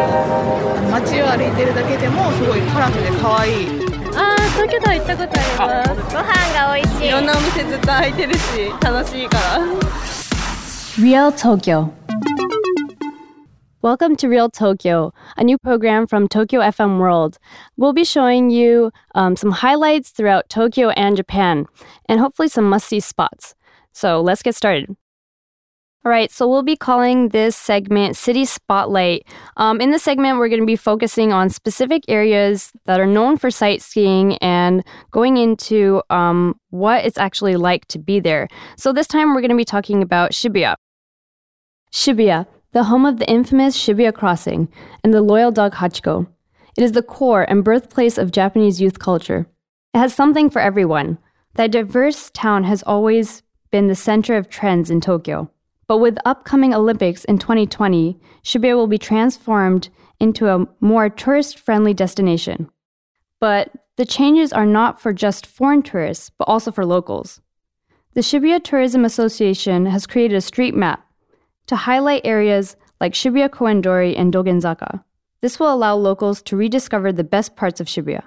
街を歩いてるだけでもすごいカラフルで可愛い。 東京タワー行ったことあります。ご飯が美味しい。 いろんなお店ずっと開いてるし楽しいから。 Real Tokyo. Welcome to Real Tokyo, a new program from Tokyo FM World. We'll be showing you some highlights throughout Tokyo and Japan, and hopefully some must-see spots. So let's get started. All right, so we'll be calling this segment City Spotlight. In this segment, we're going to be focusing on specific areas that are known for sightseeing and going into what it's actually like to be there. So this time, we're going to be talking about Shibuya. Shibuya, the home of the infamous Shibuya Crossing and the loyal dog Hachiko. It is the core and birthplace of Japanese youth culture. It has something for everyone. That diverse town has always been the center of trends in Tokyo. But with upcoming Olympics in 2020, Shibuya will be transformed into a more tourist-friendly destination. But the changes are not for just foreign tourists, but also for locals. The Shibuya Tourism Association has created a street map to highlight areas like Shibuya Koendori and Dogenzaka. This will allow locals to rediscover the best parts of Shibuya.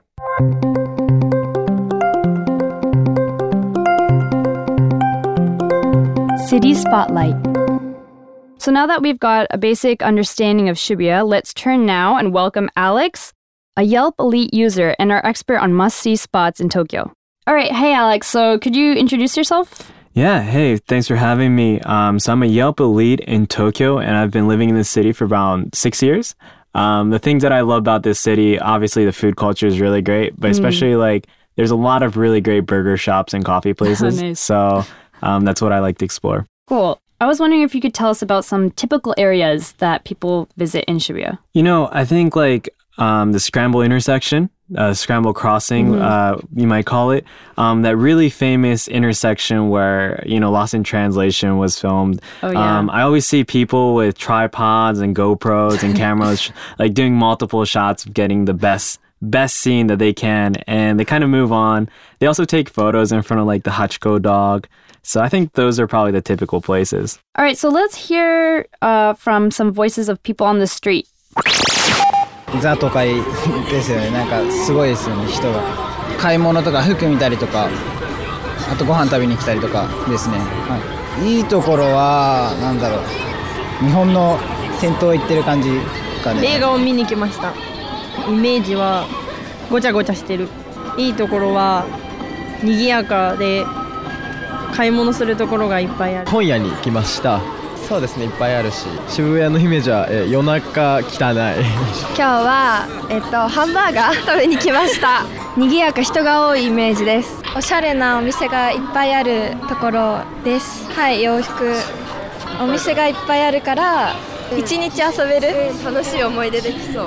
City Spotlight. So now that we've got a basic understanding of Shibuya, let's turn now and welcome Alex, a Yelp Elite user and our expert on must-see spots in Tokyo. All right, hey Alex, so could you introduce yourself? Yeah, hey, thanks for having me. So I'm a Yelp Elite in Tokyo, and I've been living in this city for about 6 years. The things that I love about this city, obviously the food culture is really great, but especially there's a lot of really great burger shops and coffee places. Nice. So that's what I like to explore. Cool. I was wondering if you could tell us about some typical areas that people visit in Shibuya. You know, I think the Scramble intersection, Scramble Crossing, you might call it, that really famous intersection where, Lost in Translation was filmed. Oh, yeah. I always see people with tripods and GoPros and cameras doing multiple shots of getting the best scene that they can, and they kind of move on. They also take photos in front of the Hachiko dog. So I think those are probably the typical places. All right, so let's hear from some voices of people on the street. ザ都会ですよね。なんかすごいですよね、人が。買い物とか服見たりとか、あとご飯食べに来たりとかですね。はい。いいところはなんだろう。日本の銭湯行ってる感じかね。 映画を見に来ました。イメージはごちゃごちゃしてる。いいところは賑やかで買い物するところがいっぱいある。 本屋に来ました。そうですね、いっぱいあるし、渋谷のイメージは、夜中汚い。 今日は、ハンバーガー食べに来ました。賑やか人が多いイメージです。おしゃれなお店がいっぱいあるところです。はい、洋服お店がいっぱいあるから一日遊べる、楽しい思い出できそう。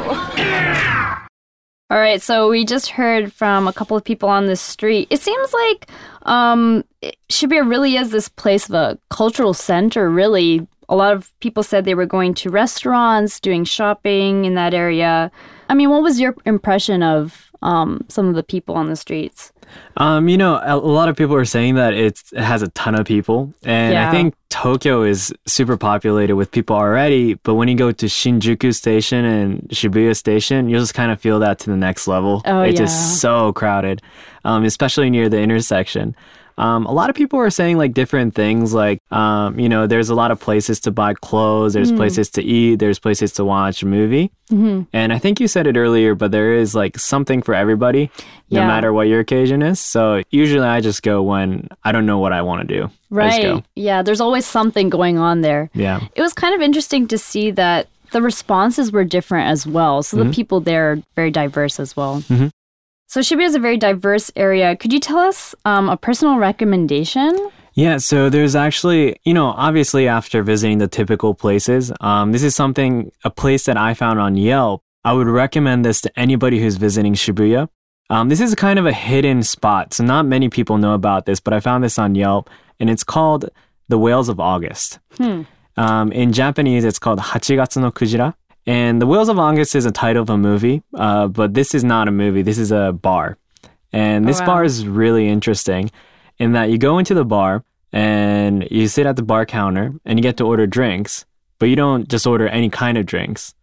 All right, so we just heard from a couple of people on the street. It seems like Shibuya really is this place of a cultural center, really. A lot of people said they were going to restaurants, doing shopping in that area. I mean, what was your impression of some of the people on the streets? A lot of people are saying that it has a ton of people. And I think Tokyo is super populated with people already. But when you go to Shinjuku Station and Shibuya Station, you'll just kind of feel that to the next level. It's just so crowded, especially near the intersection. A lot of people are saying different things there's a lot of places to buy clothes, there's places to eat, there's places to watch a movie. And I think you said it earlier, but there is something for everybody, no matter what your occasion is. So usually I just go when I don't know what I want to do. Right. Yeah, there's always something going on there. Yeah. It was kind of interesting to see that the responses were different as well. So the people there are very diverse as well. So Shibuya is a very diverse area. Could you tell us a personal recommendation? Yeah, so there's actually, obviously after visiting the typical places, this is a place that I found on Yelp. I would recommend this to anybody who's visiting Shibuya. This is kind of a hidden spot, so not many people know about this, but I found this on Yelp, and it's called the Whales of August. In Japanese, it's called Hachigatsu no Kujira. And The Whales of August is a title of a movie, but this is not a movie. This is a bar. And this bar is really interesting in that you go into the bar and you sit at the bar counter and you get to order drinks, but you don't just order any kind of drinks.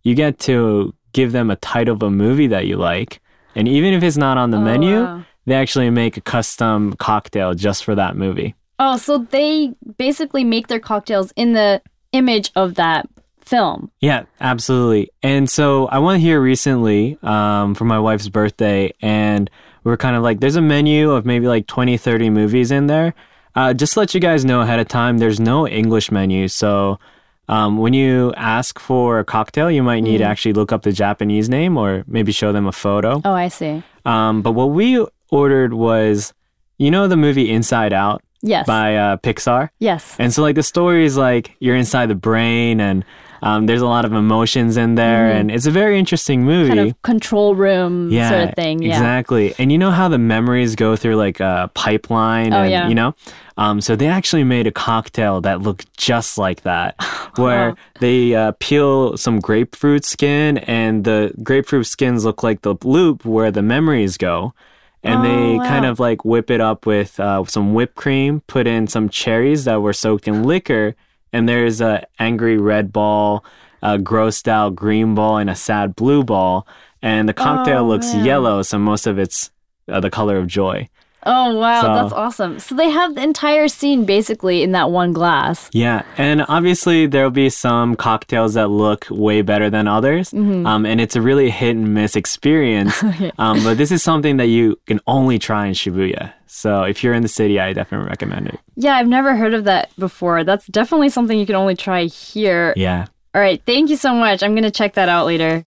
you get to give them a title of a movie that you like. And even if it's not on the menu, wow. they actually make a custom cocktail just for that movie. Oh, so they basically make their cocktails in the image of that film. Yeah, absolutely. And so I went here recently for my wife's birthday, and we were kind of like, there's a menu of maybe like 20, 30 movies in there. Just to let you guys know ahead of time, there's no English menu. So when you ask for a cocktail, you might need to actually look up the Japanese name or maybe show them a photo. Oh, I see. But what we ordered was, you know, the movie Inside Out? Yes. By Pixar? Yes. And so like the story is like you're inside the brain and there's a lot of emotions in there and it's a very interesting movie. Kind of control room sort of thing. Yeah, exactly. And you know how the memories go through like a pipeline and, you know? So they actually made a cocktail that looked just like that, where they peel some grapefruit skin and the grapefruit skins look like the loop where the memories go. And they kind of like whip it up with some whipped cream, put in some cherries that were soaked in liquor. And there's a angry red ball, a grossed out green ball, and a sad blue ball. And the cocktail looks yellow, so most of it's the color of joy. Oh, wow. So, that's awesome. So they have the entire scene basically in that one glass. Yeah. And obviously there'll be some cocktails that look way better than others. And it's a really hit and miss experience. But this is something that you can only try in Shibuya. So if you're in the city, I definitely recommend it. Yeah, I've never heard of that before. That's definitely something you can only try here. Yeah. All right. Thank you so much. I'm going to check that out later.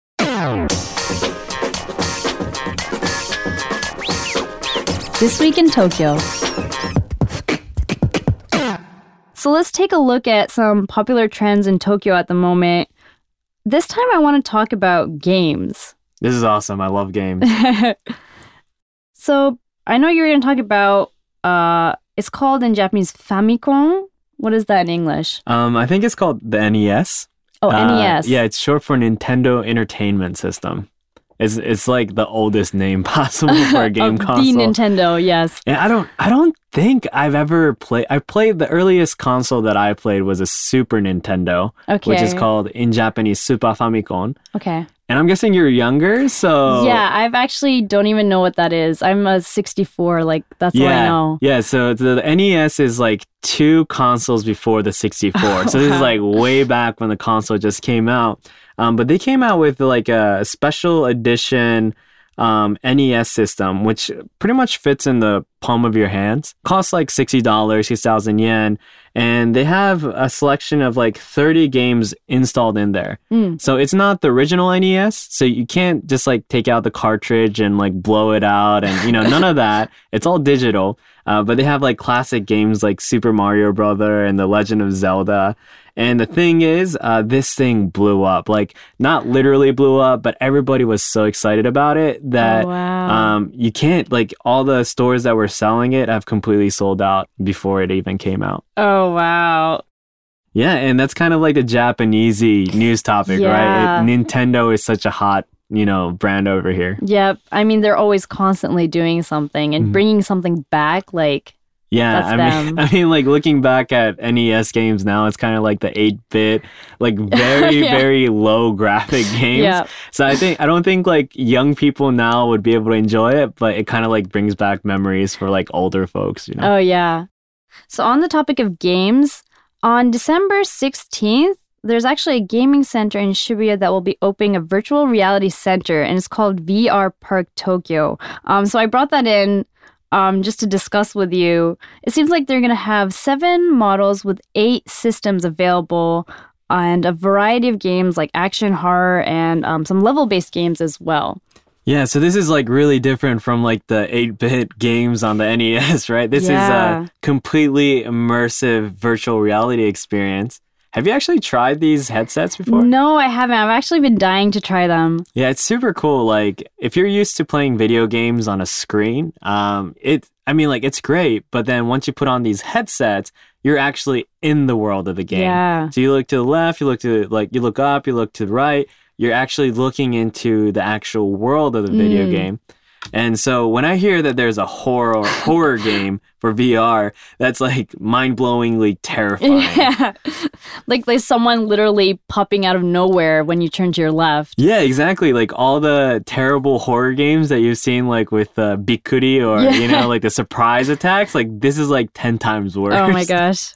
This week in Tokyo. So let's take a look at some popular trends in Tokyo at the moment. This time I want to talk about games. This is awesome. I love games. So I know you're going to talk about, it's called in Japanese Famicom. What is that in English? I think it's called the NES. Oh, NES. Yeah, it's short for Nintendo Entertainment System. It's like the oldest name possible for a game console. The Nintendo, yes. And I don't think I've ever played. I played the earliest console that I played was a Super Nintendo, which is called in Japanese Super Famicom. Okay. And I'm guessing you're younger, so yeah, I've actually don't even know what that is. I'm a 64, like that's what I know. Yeah, so the NES is like 2 consoles before the 64. So this is like way back when the console just came out. But they came out with like a special edition NES system, which pretty much fits in the palm of your hands. Costs like $60, 6,000 yen. And they have a selection of like 30 games installed in there. So it's not the original NES. So you can't just like take out the cartridge and like blow it out and, you know, none of that. It's all digital. But they have like classic games like Super Mario Brother and The Legend of Zelda. And the thing is, this thing blew up. Like, not literally blew up, but everybody was so excited about it that you can't, like, all the stores that were selling it have completely sold out before it even came out. Oh, wow. Yeah, and that's kind of like a Japanesey news topic, right? Nintendo is such a hot, you know, brand over here. Yep. I mean, they're always constantly doing something and bringing something back, like... Yeah, I mean, like looking back at NES games now, it's kind of like the 8-bit, like very, very low graphic games. Yeah. So I don't think like young people now would be able to enjoy it, but it kind of like brings back memories for like older folks, you know? Oh, yeah. So on the topic of games, on December 16th, there's actually a gaming center in Shibuya that will be opening a virtual reality center, and it's called VR Park Tokyo. So I brought that in just to discuss with you. It seems like they're going to have 7 models with 8 systems available and a variety of games like action, horror, and some level-based games as well. Yeah, so this is like really different from like the 8-bit games on the NES, right? This is a completely immersive virtual reality experience. Have you actually tried these headsets before? No, I haven't. I've actually been dying to try them. Yeah, it's super cool. Like, if you're used to playing video games on a screen, it's great. But then once you put on these headsets, you're actually in the world of the game. Yeah. So you look to the left, you look up, you look to the right. You're actually looking into the actual world of the video game. And so when I hear that there's a horror game for VR, that's like mind-blowingly terrifying. Yeah. Like there's someone literally popping out of nowhere when you turn to your left. Yeah, exactly. Like all the terrible horror games that you've seen like with Bikuri or, you know, like the surprise attacks, like this is like 10 times worse. Oh my gosh.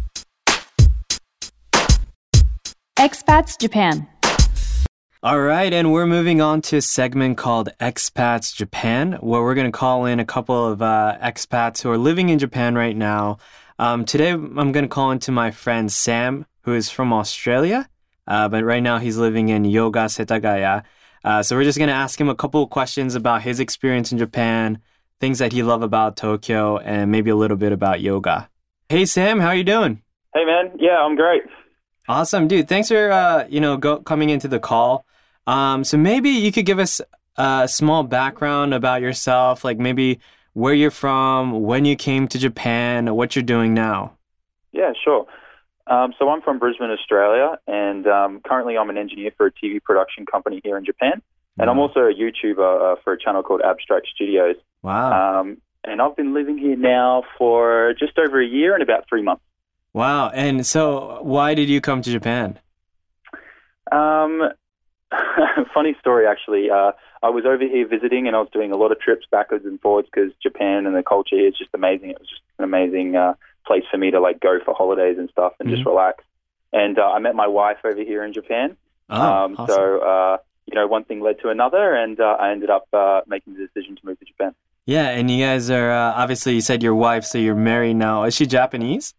Expats Japan. All right, and we're moving on to a segment called Expats Japan, where we're going to call in a couple of expats who are living in Japan right now. Today, I'm going to call into my friend Sam, who is from Australia, but right now he's living in Yoga Setagaya. So we're just going to ask him a couple of questions about his experience in Japan, things that he loved about Tokyo, and maybe a little bit about yoga. Hey, Sam, how are you doing? Hey, man. Yeah, I'm great. Awesome, dude. Thanks for, coming into the call. So maybe you could give us a small background about yourself, like maybe where you're from, when you came to Japan, what you're doing now. Yeah, sure. So I'm from Brisbane, Australia, and currently I'm an engineer for a TV production company here in Japan. And I'm also a YouTuber for a channel called Abstract Studios. Wow. And I've been living here now for just over a year and about 3 months. Wow. And so why did you come to Japan? Funny story, actually. I was over here visiting and I was doing a lot of trips backwards and forwards because Japan and the culture here is just amazing. It was just an amazing place for me to like go for holidays and stuff and just relax. And I met my wife over here in Japan. Awesome. So, one thing led to another and I ended up making the decision to move to Japan. Yeah, and you guys are, obviously you said your wife, so you're married now. Is she Japanese?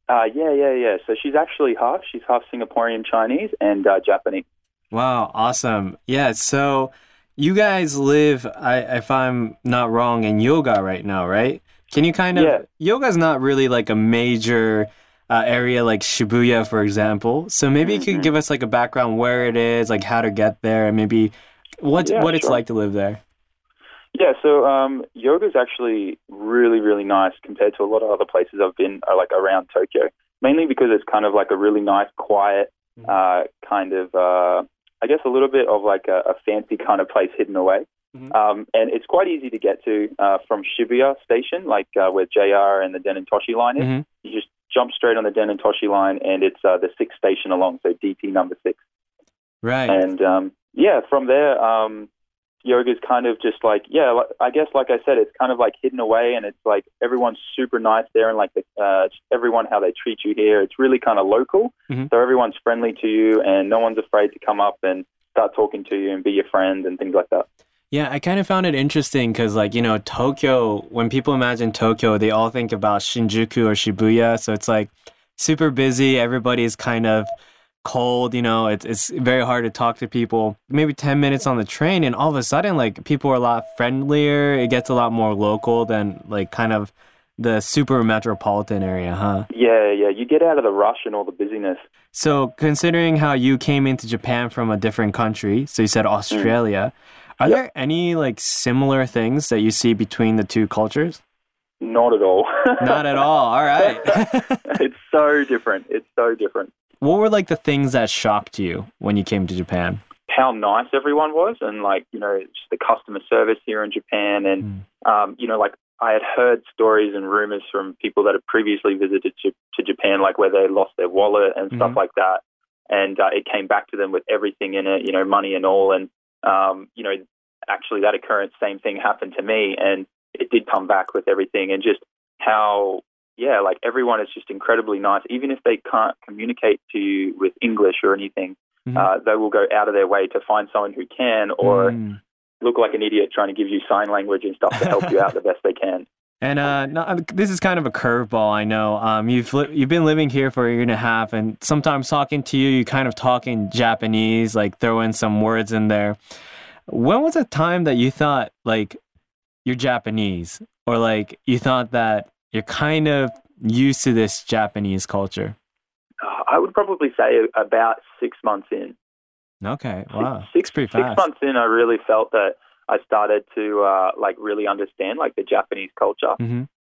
Yeah. So she's actually half. She's half Singaporean Chinese and Japanese. Wow, awesome. Yeah, so you guys live, if I'm not wrong, in Yoga right now, right? Can you kind of... Yeah. Yoga's not really like a major area like Shibuya, for example. So maybe you could give us like a background where it is, like how to get there, and maybe what it's like to live there. Yeah, so yoga is actually really, really nice compared to a lot of other places I've been, like around Tokyo. Mainly because it's kind of like a really nice, quiet, kind of, I guess a little bit of like a fancy kind of place hidden away. And it's quite easy to get to from Shibuya Station, like where JR and the Den-en-toshi line is. You just jump straight on the Den-en-toshi line, and it's the 6th station along, so DT number 6. Right. And from there, yoga is kind of just like, I guess like I said, it's kind of like hidden away, and it's like everyone's super nice there, and like everyone, how they treat you here, it's really kind of local. So everyone's friendly to you, and no one's afraid to come up and start talking to you and be your friend and things like that. Yeah, I kind of found it interesting because, like, Tokyo, when people imagine Tokyo, they all think about Shinjuku or Shibuya. So it's like super busy. Everybody's kind of cold, it's very hard to talk to people. Maybe 10 minutes on the train, and all of a sudden, like, people are a lot friendlier. It gets a lot more local than, like, kind of the super metropolitan area, huh? Yeah. You get out of the rush and all the busyness. So considering how you came into Japan from a different country, so you said Australia, are there any, like, similar things that you see between the two cultures? Not at all. Not at all. All right. It's so different. What were, like, the things that shocked you when you came to Japan? How nice everyone was, and, like, just the customer service here in Japan. And, like, I had heard stories and rumors from people that had previously visited to Japan, like where they lost their wallet and stuff like that. And it came back to them with everything in it, money and all. And, actually that occurrence, same thing happened to me. And it did come back with everything, and just how, like everyone is just incredibly nice. Even if they can't communicate to you with English or anything, they will go out of their way to find someone who can, or look like an idiot trying to give you sign language and stuff to help you out the best they can. And this is kind of a curveball, I know. You've been living here for a year and a half, and sometimes talking to you, you kind of talk in Japanese, like throw in some words in there. When was a time that you thought, like, you're Japanese, or like you thought that you're kind of used to this Japanese culture? I would probably say about 6 months in. Okay, wow. Six pretty fast. 6 months in, I really felt that I started to like really understand like the Japanese culture.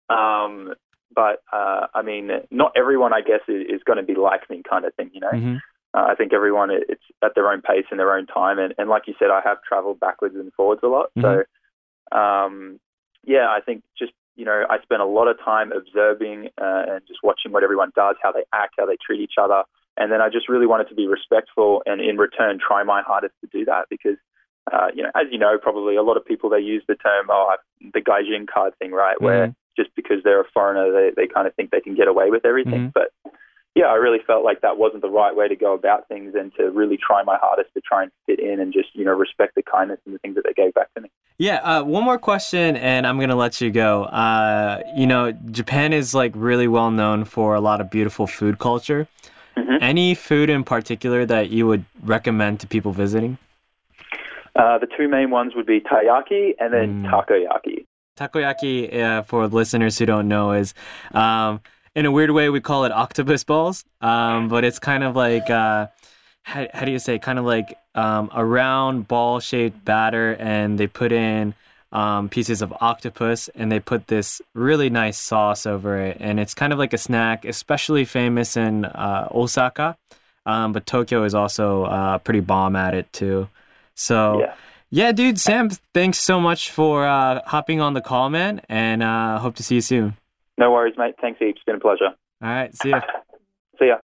But I mean, not everyone, I guess, is going to be like me, kind of thing. I think everyone, it's at their own pace and their own time. And like you said, I have traveled backwards and forwards a lot. So yeah, I think just, I spent a lot of time observing and just watching what everyone does, how they act, how they treat each other. And then I just really wanted to be respectful and in return try my hardest to do that because, as you know, probably a lot of people, they use the term, the gaijin card thing, right? Where just because they're a foreigner, they kind of think they can get away with everything. But yeah, I really felt like that wasn't the right way to go about things and to really try my hardest to try and fit in and just, respect the kindness and the things that they gave back to me. Yeah, one more question and I'm going to let you go. Japan is like really well known for a lot of beautiful food culture. Any food in particular that you would recommend to people visiting? The two main ones would be taiyaki and then takoyaki. Takoyaki, for listeners who don't know, is in a weird way we call it octopus balls, but it's kind of like how do you say? Kind of like a round ball-shaped batter, and they put in pieces of octopus, and they put this really nice sauce over it, and it's kind of like a snack, especially famous in Osaka, but Tokyo is also pretty bomb at it too. So yeah, dude, Sam, thanks so much for hopping on the call, man, and hope to see you soon. No worries, mate. Thanks heaps. It's been a pleasure. All right, see ya. See ya.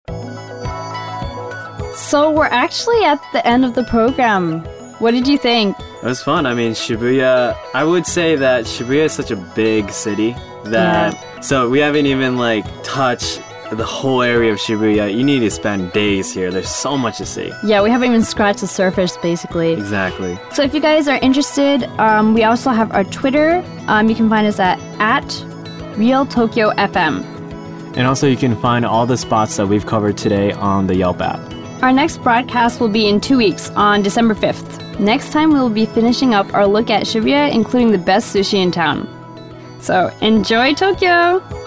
So we're actually at the end of the program. What did you think? It was fun. I mean, Shibuya, I would say that Shibuya is such a big city that, so we haven't even touched the whole area of Shibuya. You need to spend days here. There's so much to see. Yeah, we haven't even scratched the surface, basically. Exactly. So if you guys are interested, we also have our Twitter. You can find us at Real Tokyo FM. And also you can find all the spots that we've covered today on the Yelp app. Our next broadcast will be in 2 weeks on December 5th. Next time we will be finishing up our look at Shibuya, including the best sushi in town. So enjoy Tokyo!